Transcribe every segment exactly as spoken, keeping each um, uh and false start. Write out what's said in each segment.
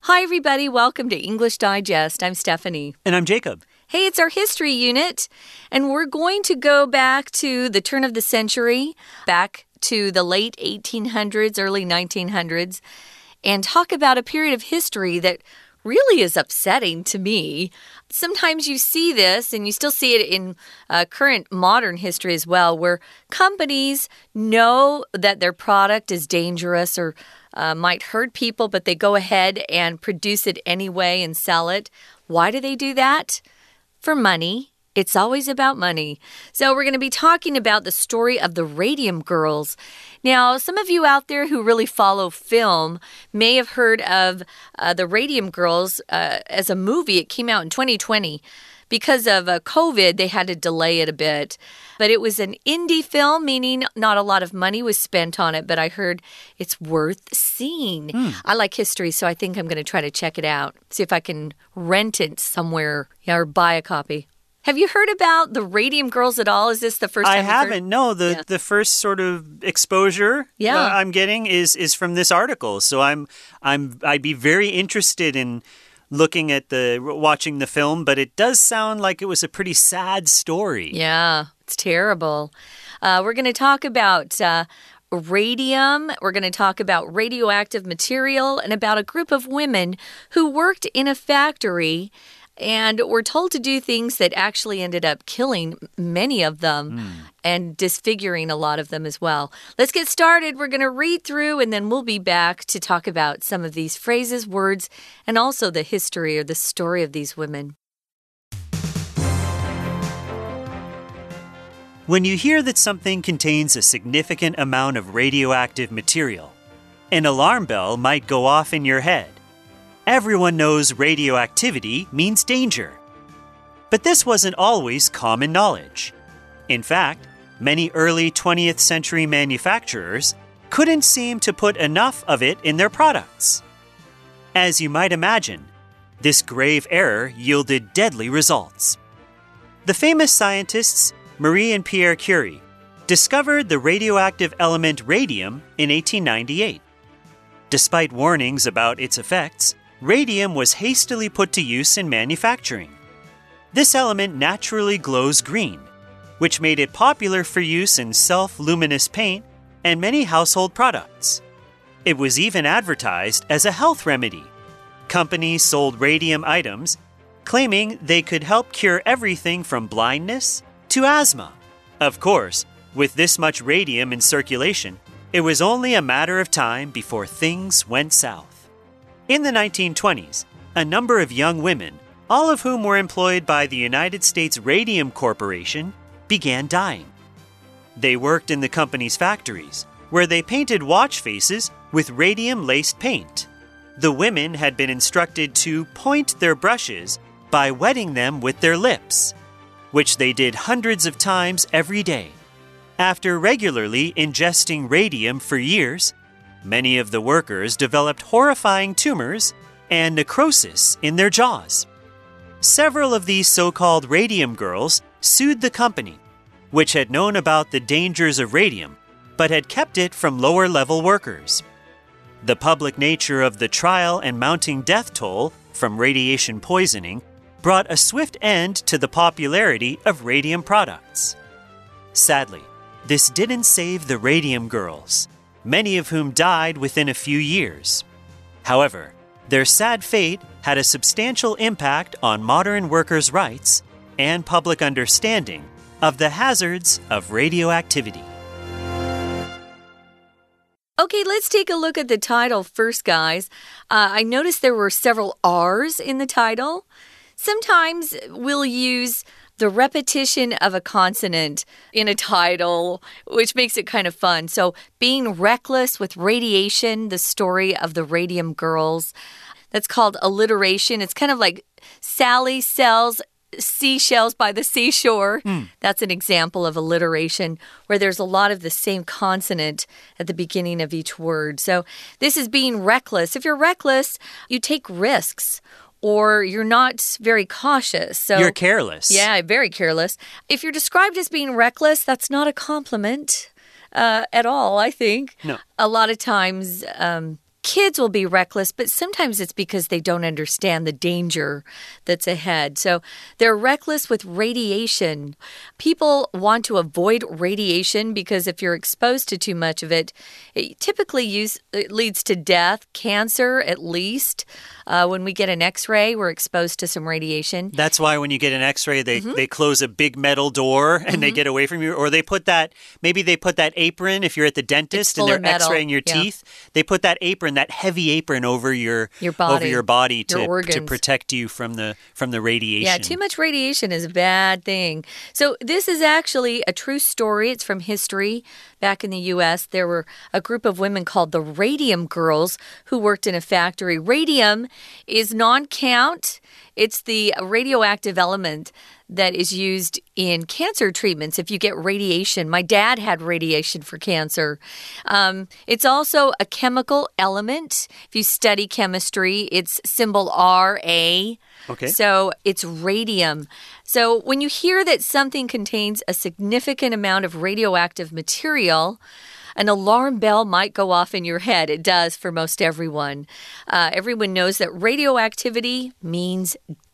Hi, everybody. Welcome to English Digest. I'm Stephanie. And I'm Jacob. Hey, it's our history unit, and we're going to go back to the turn of the century, back to the late eighteen hundreds, early nineteen hundreds, and talk about a period of history that really is upsetting to me. Sometimes you see this, and you still see it in uh, current modern history as well, where companies know that their product is dangerous or uh, might hurt people, but they go ahead and produce it anyway and sell it. Why do they do that? For money. It's always about money. So we're going to be talking about the story of the Radium Girls. Now, some of you out there who really follow film may have heard of uh, the Radium Girls uh, as a movie. It came out in twenty twenty. Because of uh, COVID, they had to delay it a bit. But it was an indie film, meaning not a lot of money was spent on it, but I heard it's worth seeing. Mm. I like history, so I think I'm going to try to check it out, see if I can rent it somewhere, yeah, or buy a copy. Have you heard about the Radium Girls at all? Is this the first time I you've haven't. heard? No, the, yeah. the first sort of exposure yeah. uh, I'm getting is is from this article. So I'm I'm I'd be very interested in looking at the watching the film, but it does sound like it was a pretty sad story. Yeah, it's terrible. Uh, we're going to talk about uh, radium. We're going to talk about radioactive material and about a group of women who worked in a factory and were told to do things that actually ended up killing many of them mm. and disfiguring a lot of them as well. Let's get started. We're going to read through and then we'll be back to talk about some of these phrases, words, and also the history or the story of these women. When you hear that something contains a significant amount of radioactive material, an alarm bell might go off in your head. Everyone knows radioactivity means danger. But this wasn't always common knowledge. In fact, many early twentieth century manufacturers couldn't seem to put enough of it in their products. As you might imagine, this grave error yielded deadly results. The famous scientists Marie and Pierre Curie discovered the radioactive element radium in eighteen ninety-eight. Despite warnings about its effects, radium was hastily put to use in manufacturing. This element naturally glows green, which made it popular for use in self-luminous paint and many household products. It was even advertised as a health remedy. Companies sold radium items, claiming they could help cure everything from blindness to asthma. Of course, with this much radium in circulation, it was only a matter of time before things went south. In the nineteen twenties, a number of young women, all of whom were employed by the United States Radium Corporation, began dying. They worked in the company's factories, where they painted watch faces with radium-laced paint. The women had been instructed to point their brushes by wetting them with their lips, which they did hundreds of times every day. After regularly ingesting radium for years, many of the workers developed horrifying tumors and necrosis in their jaws. Several of these so-called radium girls sued the company, which had known about the dangers of radium, but had kept it from lower-level workers. The public nature of the trial and mounting death toll from radiation poisoning brought a swift end to the popularity of radium products. Sadly, this didn't save the radium girls, many of whom died within a few years. However, their sad fate had a substantial impact on modern workers' rights and public understanding of the hazards of radioactivity. Okay, let's take a look at the title first, guys. Uh, I noticed there were several R's in the title. Sometimes we'll use the repetition of a consonant in a title, which makes it kind of fun. So, being reckless with radiation, the story of the Radium Girls. That's called alliteration. It's kind of like Sally sells seashells by the seashore. Mm. That's an example of alliteration where there's a lot of the same consonant at the beginning of each word. So, this is being reckless. If you're reckless, you take risks. Or you're not very cautious. So you're careless. Yeah, very careless. If you're described as being reckless, that's not a compliment uh, at all, I think. No. A lot of times, um, kids will be reckless, but sometimes it's because they don't understand the danger that's ahead. So they're reckless with radiation. People want to avoid radiation because if you're exposed to too much of it, it typically use, it leads to death, cancer at least. Uh, when we get an X-ray, we're exposed to some radiation. That's why when you get an X-ray, they, mm-hmm. they close a big metal door and mm-hmm. they get away from you. Or they put that, maybe they put that apron if you're at the dentist and they're X-raying your yeah. teeth. They put that apron, that heavy apron over your, your body, over your body to, your to protect you from the, from the radiation. Yeah, too much radiation is a bad thing. So this is actually a true story. It's from history. Back in the U S, there were a group of women called the Radium Girls who worked in a factory. Radium is non-count. It's the radioactive element that is used in cancer treatments if you get radiation. My dad had radiation for cancer. Um, it's also a chemical element. If you study chemistry, it's symbol R A. Okay. So it's radium. So when you hear that something contains a significant amount of radioactive material, an alarm bell might go off in your head. It does for most everyone. Uh, everyone knows that radioactivity means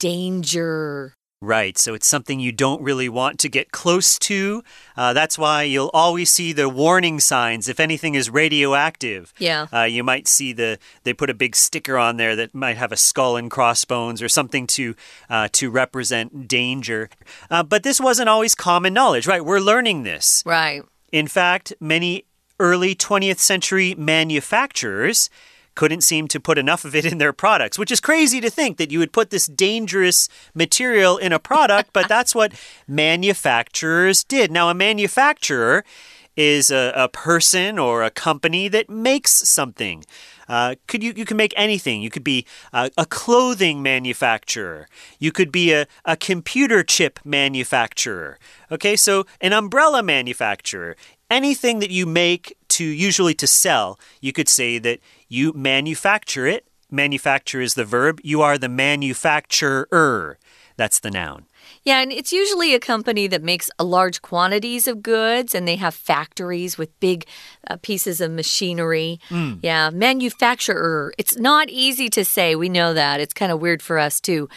danger. Right, so it's something you don't really want to get close to. Uh, that's why you'll always see the warning signs if anything is radioactive. Yeah. Uh, you might see the they put a big sticker on there that might have a skull and crossbones or something to uh, to represent danger. Uh, but this wasn't always common knowledge, right? We're learning this. Right. In fact, many early twentieth century manufacturers couldn't seem to put enough of it in their products, which is crazy to think that you would put this dangerous material in a product, but that's what manufacturers did. Now, a manufacturer is a, a person or a company that makes something. Uh, could you, you can make anything. You could be a, a clothing manufacturer. You could be a, a computer chip manufacturer. Okay, so an umbrella manufacturer. Anything that you make to usually to sell, you could say that you manufacture it. Manufacture is the verb. You are the manufacturer. That's the noun. Yeah, and it's usually a company that makes large quantities of goods, and they have factories with big uh, pieces of machinery. Mm. Yeah, manufacturer. It's not easy to say. We know that. It's kind of weird for us, too.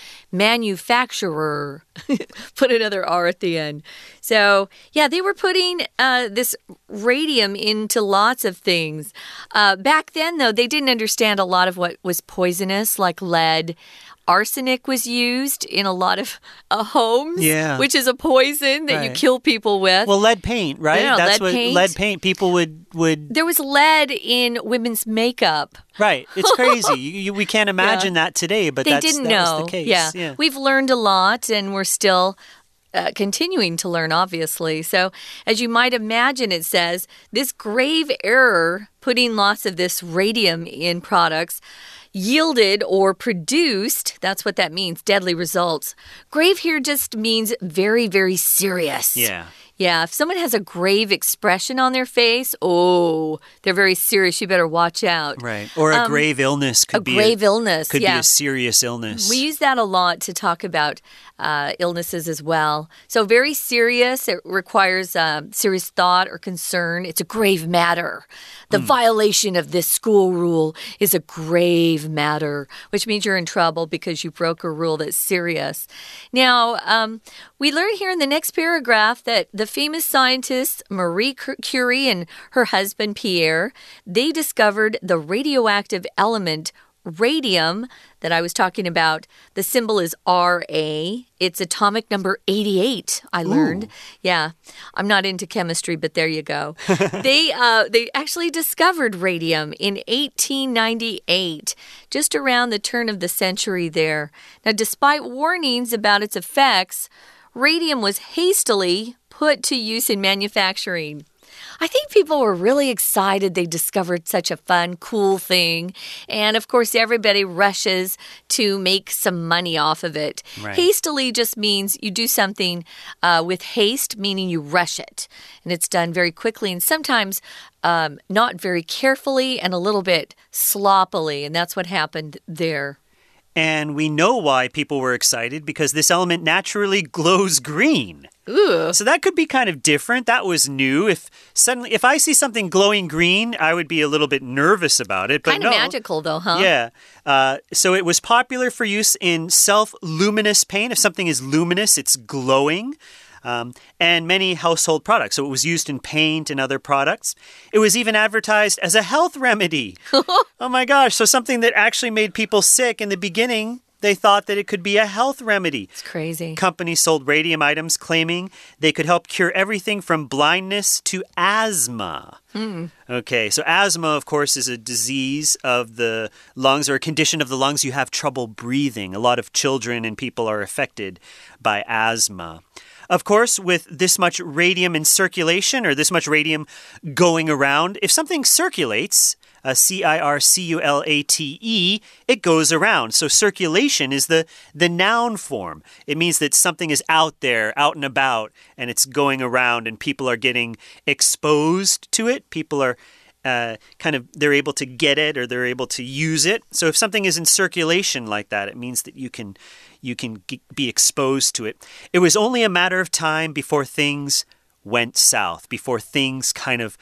Manufacturer. Put another R at the end. So, yeah, they were putting uh, this radium into lots of things. Uh, back then, though, they didn't understand a lot of what was poisonous, like lead. Arsenic was used in a lot of uh, homes, yeah. which is a poison that right. you kill people with. Well, lead paint, right? Yeah, That's lead what paint. lead paint people would, would... There was lead in women's makeup. Right. It's crazy. you, you, we can't imagine yeah. that today, but they that's, didn't that know. was the case. Yeah. yeah. We've learned a lot, and we're still... Uh, continuing to learn, obviously. So, as you might imagine, it says, this grave error, putting lots of this radium in products, yielded or produced, that's what that means, deadly results. Grave here just means very, very serious. Yeah. Yeah, if someone has a grave expression on their face, oh, they're very serious. You better watch out. Right. Or a um, grave illness could a be grave a, illness. Could yeah. be a serious illness. We use that a lot to talk about uh, illnesses as well. So very serious. It requires uh, serious thought or concern. It's a grave matter. The mm. violation of this school rule is a grave matter, which means you're in trouble because you broke a rule that's serious. Now, um, we learn here in the next paragraph that the famous scientists Marie Curie and her husband Pierre, they discovered the radioactive element radium that I was talking about. The symbol is R A. It's atomic number eighty-eight, I learned. Ooh. Yeah, I'm not into chemistry, but there you go. they uh, they actually discovered radium in eighteen ninety-eight, just around the turn of the century there. Now, despite warnings about its effects, radium was hastily put to use in manufacturing. I think people were really excited they discovered such a fun, cool thing. And, of course, everybody rushes to make some money off of it. Right. Hastily just means you do something uh, with haste, meaning you rush it. And it's done very quickly and sometimes um, not very carefully and a little bit sloppily. And that's what happened there. And we know why people were excited, because this element naturally glows green. Ooh. So that could be kind of different. That was new. If suddenly, if I see something glowing green, I would be a little bit nervous about it. But kind no. of magical, though, huh? Yeah. Uh, so it was popular for use in self-luminous paint. If something is luminous, it's glowing. Um, and many household products. So it was used in paint and other products. It was even advertised as a health remedy. Oh my gosh. So something that actually made people sick in the beginning, they thought that it could be a health remedy. It's crazy. Companies sold radium items claiming they could help cure everything from blindness to asthma. Mm. Okay, so asthma, of course, is a disease of the lungs, or a condition of the lungs. You have trouble breathing. A lot of children and people are affected by asthma. Of course, with this much radium in circulation, or this much radium going around, if something circulates, uh, C I R C U L A T E, it goes around. So circulation is the, the noun form. It means that something is out there, out and about, and it's going around, and people are getting exposed to it. People are uh, kind of, they're able to get it, or they're able to use it. So if something is in circulation like that, it means that you can... you can be exposed to it. It was only a matter of time before things went south, before things kind of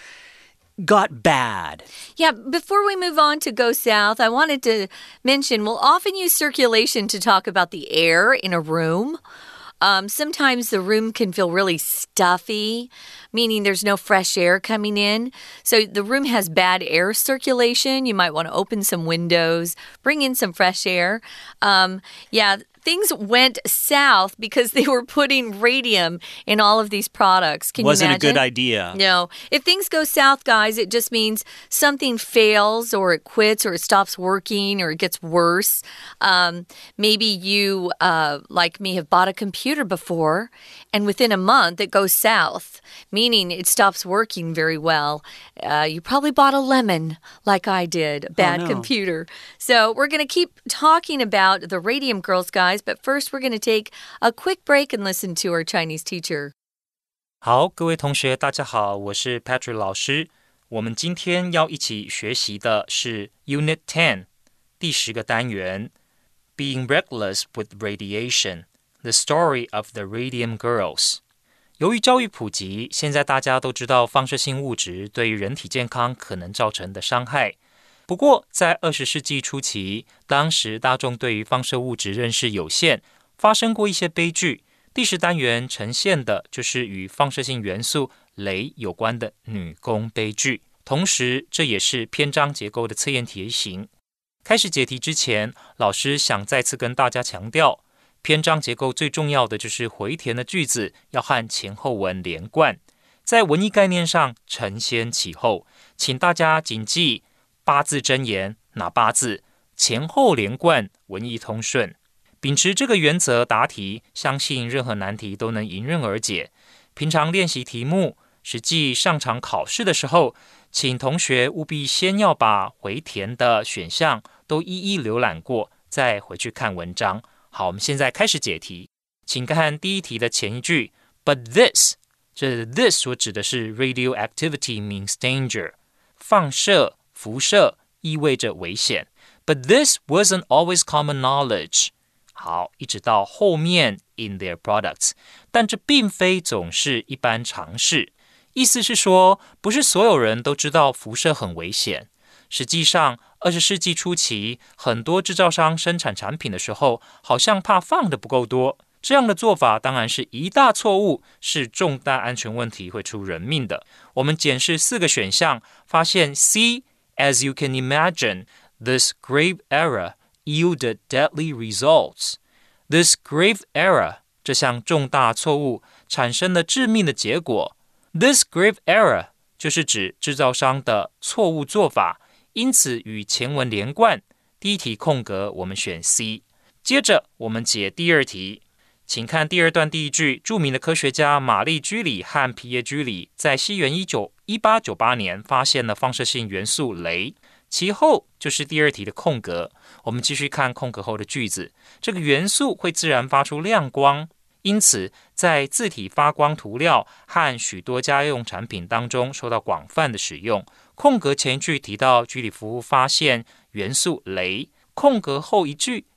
got bad. Yeah, before we move on to go south, I wanted to mention we'll often use circulation to talk about the air in a room. Um, sometimes the room can feel really stuffy, meaning there's no fresh air coming in. So the room has bad air circulation. You might want to open some windows, bring in some fresh air. Um, yeah, things went south because they were putting radium in all of these products. Can Wasn't you imagine? a good idea. No. If things go south, guys, it just means something fails, or it quits, or it stops working, or it gets worse. Um, maybe you, uh, like me, have bought a computer before, and within a month it goes south, meaning it stops working very well. Uh, you probably bought a lemon, like I did, a bad oh, no. computer. So we're going to keep talking about the Radium Girls, guys. But first, we're going to take a quick break and listen to our Chinese teacher. 好，各位同学，大家好，我是 Patrick 老師。我們今天要一起學習的是 Unit ten 第十個單元 Being Reckless with Radiation, the story of the Radium Girls. 由於教育普及，現在大家都知道放射性物質對於人體健康可能造成的傷害。不過，在二十世紀初期，當時大眾對於放射物質認識有限，發生過一些悲劇。第十單元呈現的就是與放射性元素鐳有關的女工悲劇，同時這也是篇章結構的測驗題型。開始解題之前，老師想再次跟大家強調，篇章結構最重要的就是回填的句子要和前後文連貫，在文意概念上承先啟後，請大家謹記八字真言，哪八字？前後連貫，文意通順。秉持這個原則答題，相信任何難題都能迎刃而解。平常練習題目，實際上場考試的時候，請同學務必先要把回填的選項都一一瀏覽過，再回去看文章。好，我們現在開始解題。請看第一題的前一句 ，But this， 這 this 所指的是 radioactivity means danger， 放射。輻射意味着危險 ，but this wasn't always common knowledge。好，一直到後面 in their products， 但這並非總是一般常識。意思是說，不是所有人都知道輻射很危險。實際上，二十世紀初期，很多製造商生產產品的時候，好像怕放的不夠多。這樣的做法當然是一大錯誤，是重大安全問題，會出人命的。我們檢視四個選項，發現 C。As you can imagine, this grave error yielded deadly results. This grave error, 這項重大錯誤產生了致命的結果。This grave error 就是指製造商的錯誤做法，因此與前文連貫。第一題空格，我們選 C。接着我們解第二題。請看第二段第一句，著名的科學家瑪麗居里和皮耶居里在西元一八九八年發現了放射性元素鐳，其後就是第二題的空格。我們繼續看空格後的句子，這個元素會自然發出亮光，因此在字體發光塗料和許多家用產品當中受到廣泛的使用。空格前一句提到居里夫婦發現元素鐳，空格後一句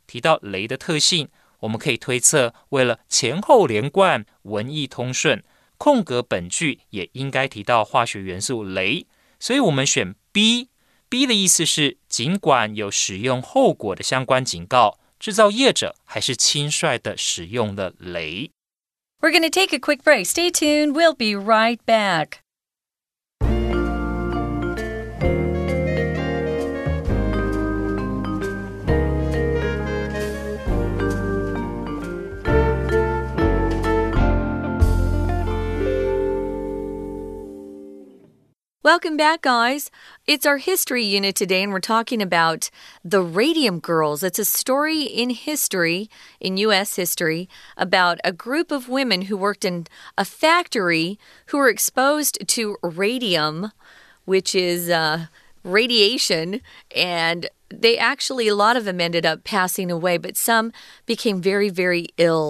提到鐳的特性，我們可以推測，為了前後連貫、文意通順，空格本句也應該提到化學元素鐳，所以我們選 B。B 的意思是，儘管有使用後果的相關警告，製造業者還是輕率地使用了鐳。 We're going to take a quick break. Stay tuned. We'll be right back. Welcome back, guys. It's our history unit today, and we're talking about the Radium Girls. It's a story in history, in U S history, about a group of women who worked in a factory who were exposed to radium, which is uh, radiation, and they actually, a lot of them ended up passing away, but some became very, very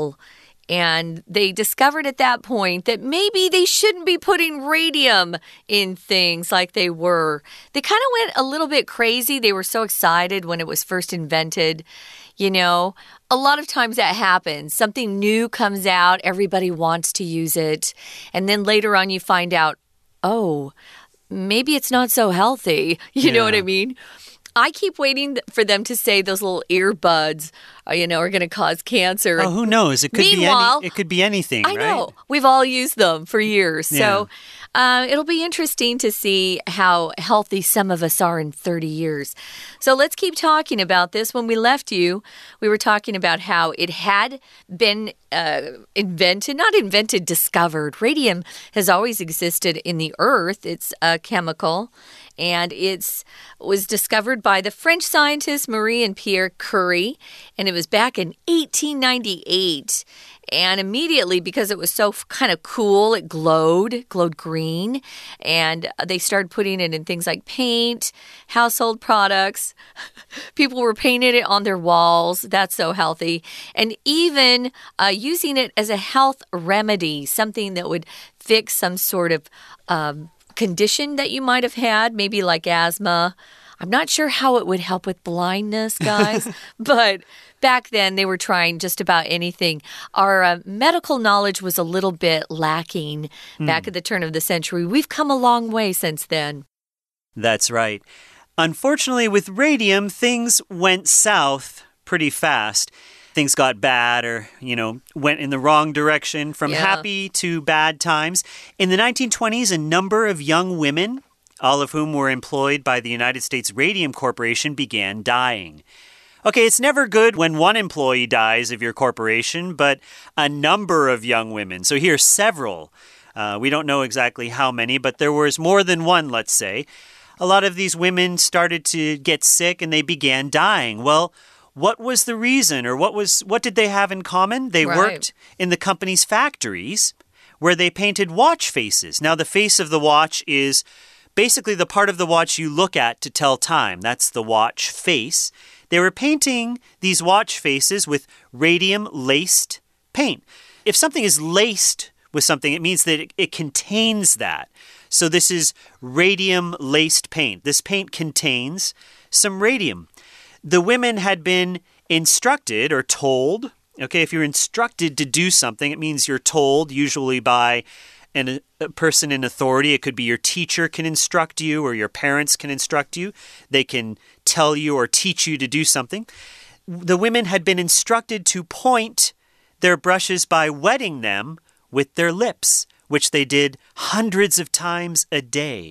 ill.And they discovered at that point that maybe they shouldn't be putting radium in things like they were. They kind of went a little bit crazy. They were so excited when it was first invented. You know, a lot of times that happens. Something new comes out, everybody wants to use it. And then later on you find out, oh, maybe it's not so healthy. You yeah. know what I mean?I keep waiting for them to say those little earbuds, uh, you know, are going to cause cancer. Oh, who knows? It could Meanwhile, be any, it could be anything, I right? know. We've all used them for years. Yeah. So uh, it'll be interesting to see how healthy some of us are in thirty years. So let's keep talking about this. When we left you, we were talking about how it had been uh, invented, not invented, discovered. Radium has always existed in the earth. It's a chemical.And it was discovered by the French scientists Marie and Pierre Curie, and it was back in eighteen ninety-eight. And immediately, because it was so kind of cool, it glowed, glowed green, and they started putting it in things like paint, household products. People were painting it on their walls. That's so healthy. And even uh, using it as a health remedy, something that would fix some sort of um, condition that you might have had, maybe like asthma. I'm not sure how it would help with blindness, guys, but back then they were trying just about anything. Our uh, medical knowledge was a little bit lacking mm. back at the turn of the century. We've come a long way since then. That's right. Unfortunately, with radium, things went south pretty fast.Things got bad or, you know, went in the wrong direction from yeah. happy to bad times. In the nineteen twenties, a number of young women, all of whom were employed by the United States Radium Corporation, began dying. Okay, it's never good when one employee dies of your corporation, but a number of young women. So here's several. Uh, we don't know exactly how many, but there was more than one, let's say. A lot of these women started to get sick and they began dying. Well,What was the reason, or what was what did they have in common? They right. worked in the company's factories where they painted watch faces. Now, the face of the watch is basically the part of the watch you look at to tell time. That's the watch face. They were painting these watch faces with radium-laced paint. If something is laced with something, it means that it, it contains that. So this is radium-laced paint. This paint contains some radium.The women had been instructed or told, okay, if you're instructed to do something, it means you're told, usually by an, a person in authority. It could be your teacher can instruct you or your parents can instruct you. They can tell you or teach you to do something. The women had been instructed to point their brushes by wetting them with their lips, which they did hundreds of times a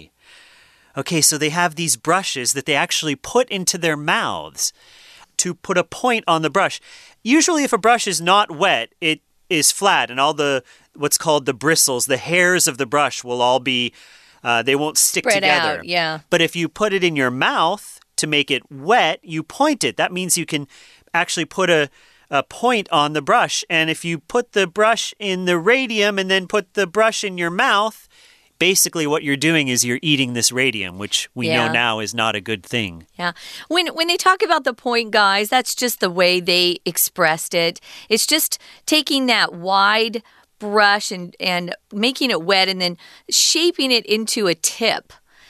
day.Okay, so they have these brushes that they actually put into their mouths to put a point on the brush. Usually if a brush is not wet, it is flat and all the, what's called the bristles, the hairs of the brush will all be, uh, they won't stick Spread together. Out, yeah. But if you put it in your mouth to make it wet, you point it. That means you can actually put a, a point on the brush. And if you put the brush in the radium and then put the brush in your mouth,Basically, what you're doing is you're eating this radium, which we yeah. know now is not a good thing. Yeah. When when they talk about the point, guys, that's just the way they expressed it. It's just taking that wide brush and, and making it wet and then shaping it into a tip.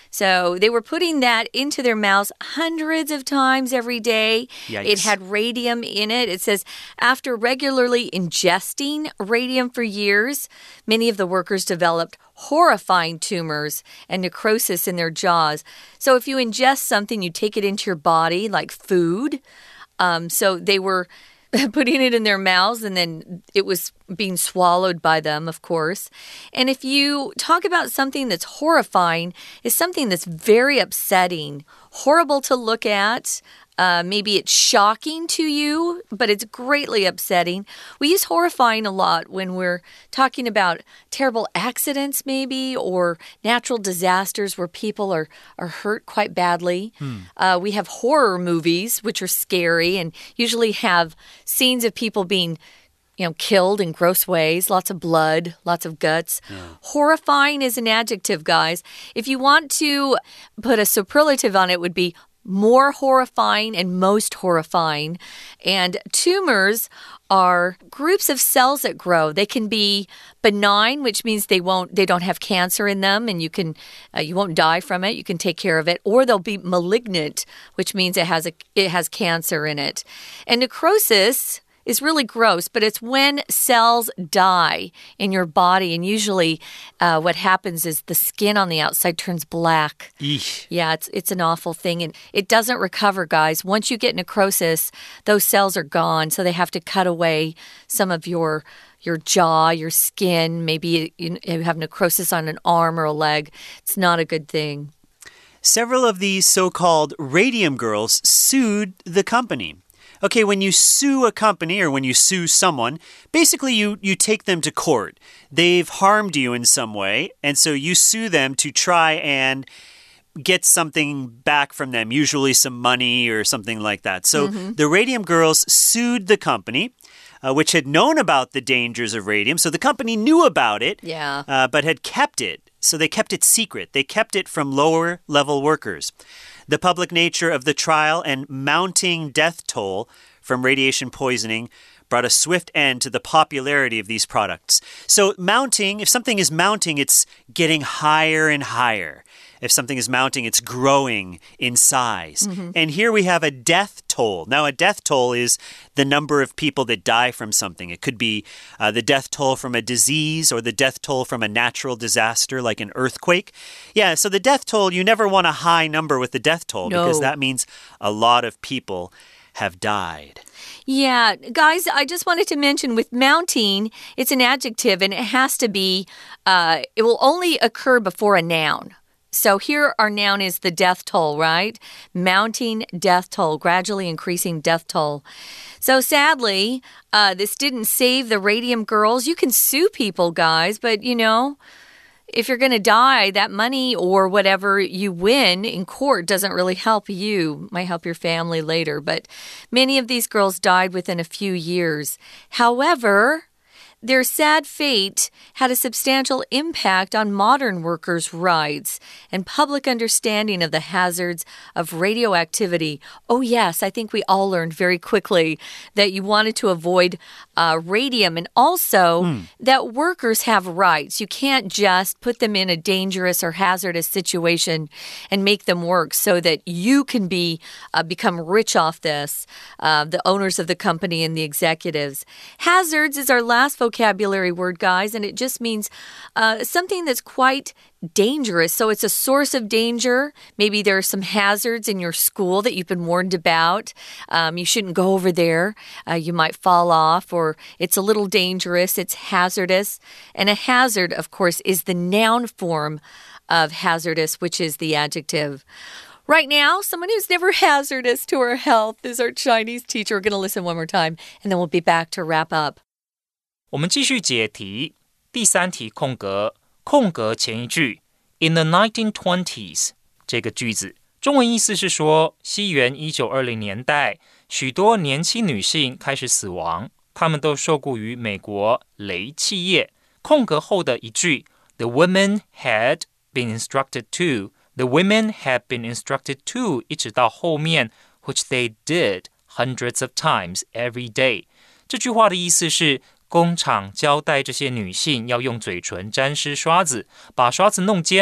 So they were putting that into their mouths hundreds of times every day. Yikes. It had radium in it. It says after regularly ingesting radium for years, many of the workers developed horrifying tumors and necrosis in their jaws. So if you ingest something, you take it into your body like food. Um, so they were putting it in their mouths, and then it was being swallowed by them, of course. And if you talk about something that's horrifying, it's something that's very upsetting, horrible to look at. Uh, maybe it's shocking to you, but it's greatly upsetting. We use horrifying a lot when we're talking about terrible accidents, maybe, or natural disasters where people are, are hurt quite badly. Hmm. Uh, we have horror movies, which are scary and usually have scenes of people being you know, killed in gross ways, lots of blood, lots of guts. Yeah. Horrifying is an adjective, guys. If you want to put a superlative on it, it would be more horrifying and most horrifying. And tumors are groups of cells that grow. They can be benign, which means they won't they don't have cancer in them and you can uh, you won't die from it. You can take care of it. Or they'll be malignant, which means it has a it has cancer in it. And necrosis is really gross, but it's when cells die in your body, and usually uh, what happens is the skin on the outside turns black. Eesh. Yeah, it's it's an awful thing, and it doesn't recover, guys. Once you get necrosis, those cells are gone, so they have to cut away some of your your jaw, your skin. Maybe you have necrosis on an arm or a leg. It's not a good thing. Several of these so-called radium girls sued the company. Okay, when you sue a company or when you sue someone, basically you, you take them to court. They've harmed you in some way, and so you sue them to try and get something back from them, usually some money or something like that. So mm-hmm. the Radium Girls sued the company, uh, which had known about the dangers of radium. So the company knew about it, yeah. uh, but had kept it. So they kept it secret. They kept it from lower-level workers. The public nature of the trial and mounting death toll from radiation poisoning brought a swift end to the popularity of these products. So mounting, if something is mounting, it's getting higher and higher. If something is mounting, it's growing in size. Mm-hmm. And here we have a death toll. Now, a death toll is the number of people that die from something. It could be uh, the death toll from a disease or the death toll from a natural disaster like an earthquake. Yeah, so the death toll, you never want a high number with the death toll no. because that means a lot of people have died. Yeah, guys, I just wanted to mention with mounting, it's an adjective and it has to be, uh, it will only occur before a noun. So here our noun is the death toll, right? Mounting death toll, gradually increasing death toll. So sadly, uh, this didn't save the Radium Girls. You can sue people, guys, but you know, if you're going to die, that money or whatever you win in court doesn't really help you. It might help your family later, but many of these girls died within a few years. However, their sad fate had a substantial impact on modern workers' rights and public understanding of the hazards of radioactivity. Oh, yes, I think we all learned very quickly that you wanted to avoid uh, radium and also mm. that workers have rights. You can't just put them in a dangerous or hazardous situation and make them work so that you can be uh, become rich off this, uh, the owners of the company and the executives. Hazards is our last vocabulary word, guys, and it just means uh, something that's quite dangerous. So it's a source of danger. Maybe there are some hazards in your school that you've been warned about. Um, you shouldn't go over there. Uh, you might fall off, or it's a little dangerous. It's hazardous. And a hazard, of course, is the noun form of hazardous, which is the adjective. Right now, someone who's never hazardous to our health is our Chinese teacher. We're going to listen one more time, and then we'll be back to wrap up. 我們繼續解題，第三題空格，空格前一句 In the nineteen twenties 這個句子，中文意思是說，西元一九二零年代，許多年輕女性開始死亡，她們都受僱於美國雷企業。空格後的一句 The women had been instructed to The women had been instructed to 一直到後面 which they did hundreds of times every day 這句話的意思是工廠交代這些女性要用嘴唇沾濕刷子，把刷子弄尖。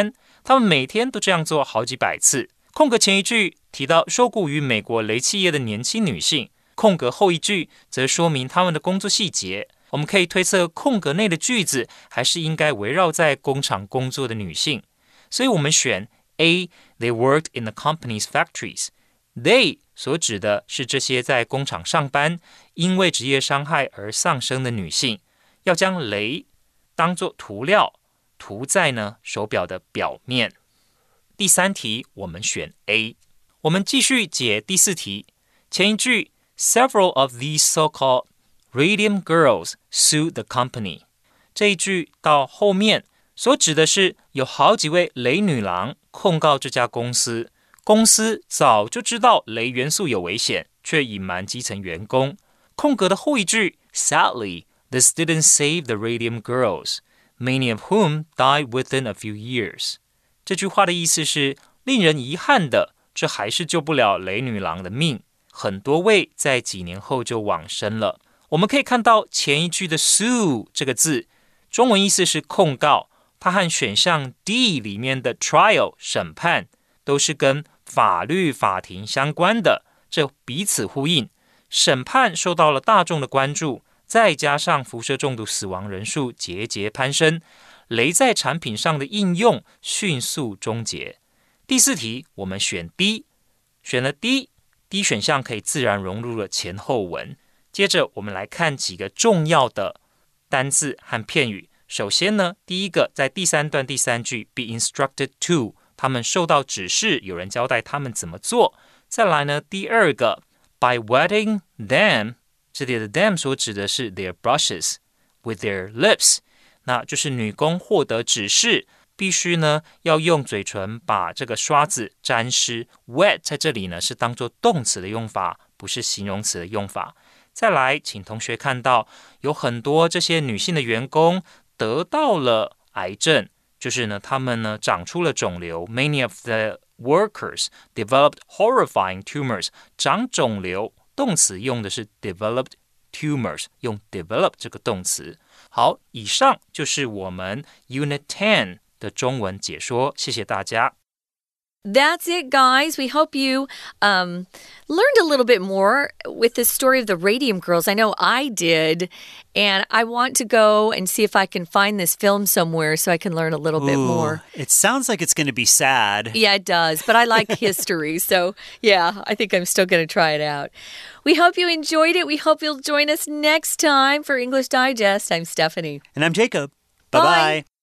他們每天都這樣做好幾百次。空格前一句提到受僱於美國雷企業的年輕女性，空格後一句則說明他們的工作細節。我們可以推測空格內的句子還是應該圍繞在工廠工作的女性，所以我們選 A. They worked in the company's factories. They 所指的是這些在工廠上班，因為職業傷害而喪生的女性。要將鐳當作塗料，塗在呢手錶的表面。第三題我們選 A。我們繼續解第四題。前一句 Several of these so-called Radium girls sued the company. 這一句到後面所指的是有好幾位雷女郎控告這家公司，公司早就知道雷元素有危險，卻隱瞞基層員工。空格的後一句 Sadly, this didn't save the Radium girls, many of whom died within a few years. 這句話的意思是令人遺憾的，這還是救不了雷女郎的命，很多位在幾年後就往生了。我們可以看到前一句的 sue 這個字，中文意思是控告，它和選項 D 裡面的 trial 審判都是跟法律法庭相關的，這彼此呼應。審判受到了大眾的關注，再加上輻射中毒死亡人數節節攀升，雷在產品上的應用迅速終結。第四題我們選 D， 選了 D，D 選項可以自然融入了前後文。接着我們來看幾個重要的單字和片語。首先呢，第一個在第三段第三句 be instructed to， 他們受到指示，有人交代他們怎麼做。再來呢，第二個 by wetting them， 這裡的 them 所指的是 their brushes with their lips， 那就是女工獲得指示，必須呢要用嘴唇把這個刷子沾濕。wet 在這裡呢是當作動詞的用法，不是形容詞的用法。再來，請同學看到有很多這些女性的員工得到了癌症，就是呢，他們呢長出了腫瘤。Many of the workers developed horrifying tumors。長腫瘤，動詞用的是 developed tumors， 用 develop 這個動詞。好，以上就是我們 Unit ten 的中文解說，謝謝大家。 That's it, guys. We hope you um, learned a little bit more with the story of the Radium Girls. I know I did, and I want to go and see if I can find this film somewhere so I can learn a little Ooh, bit more. It sounds like it's going to be sad. Yeah, it does, but I like history, so yeah, I think I'm still going to try it out. We hope you enjoyed it. We hope you'll join us next time for English Digest. I'm Stephanie. And I'm Jacob. Bye-bye. Bye.